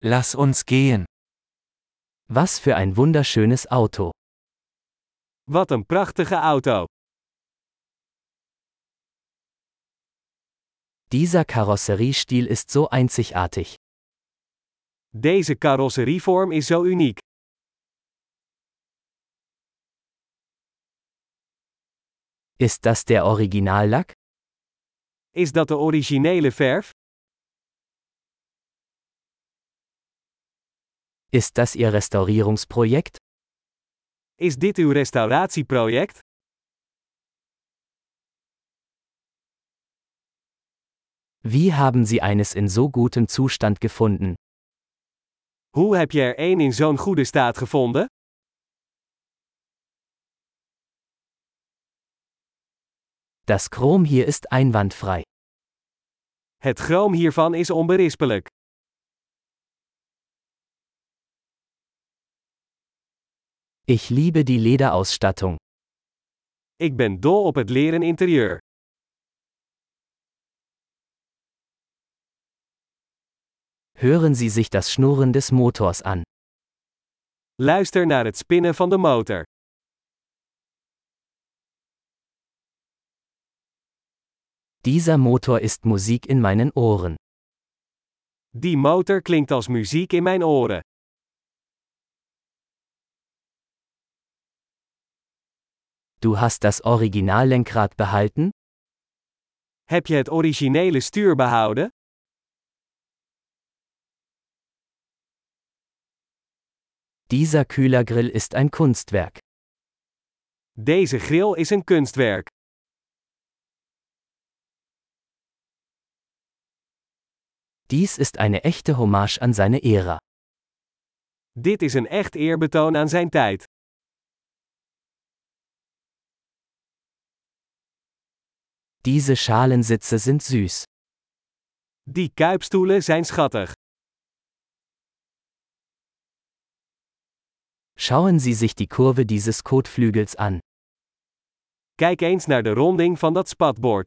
Lass uns gehen. Was für ein wunderschönes Auto. Wat een prachtige auto. Dieser Karosseriestil ist so einzigartig. Deze carrosserievorm is zo uniek. Ist das der Originallack? Is dat de originele verf? Ist das Ihr Restaurierungsprojekt? Is dit uw restauratieproject? Wie haben Sie eines in so gutem Zustand gefunden? Hoe heb je er één in zo'n goede staat gevonden? Das Chrom hier ist einwandfrei. Het chroom hiervan is onberispelijk. Ich liebe die Lederausstattung. Ik ben dol op het leren interieur. Hören Sie sich das Schnurren des Motors an. Luister naar het spinnen van de motor. Dieser Motor ist Musik in meinen Ohren. Die motor klinkt als muziek in mijn oren. Du hast das Originallenkrad behalten? Heb je het originele stuur behouden? Dieser Kühlergrill ist ein Kunstwerk. Deze grill is een kunstwerk. Dies ist eine echte Hommage an seine Ära. Dit is een echt eerbetoon aan zijn tijd. Diese Schalensitze sind süß. Die kuipstoelen zijn schattig. Schauen Sie sich die Kurve dieses Kotflügels an. Kijk eens naar de ronding van dat spatbord.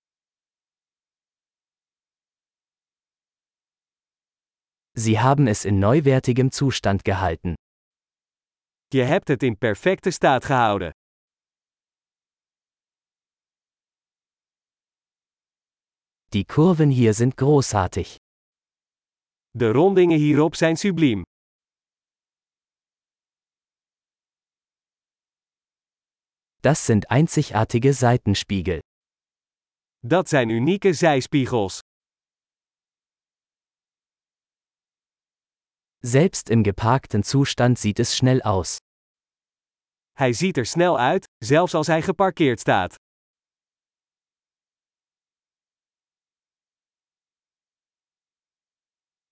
Sie haben es in neuwertigem Zustand gehalten. Je hebt het in perfecte staat gehouden. Die Kurven hier sind großartig. De rondingen hierop zijn subliem. Das sind einzigartige Seitenspiegel. Dat zijn unieke zijspiegels. Selbst im geparkten Zustand sieht es schnell aus. Hij ziet er snel uit, zelfs als hij geparkeerd staat.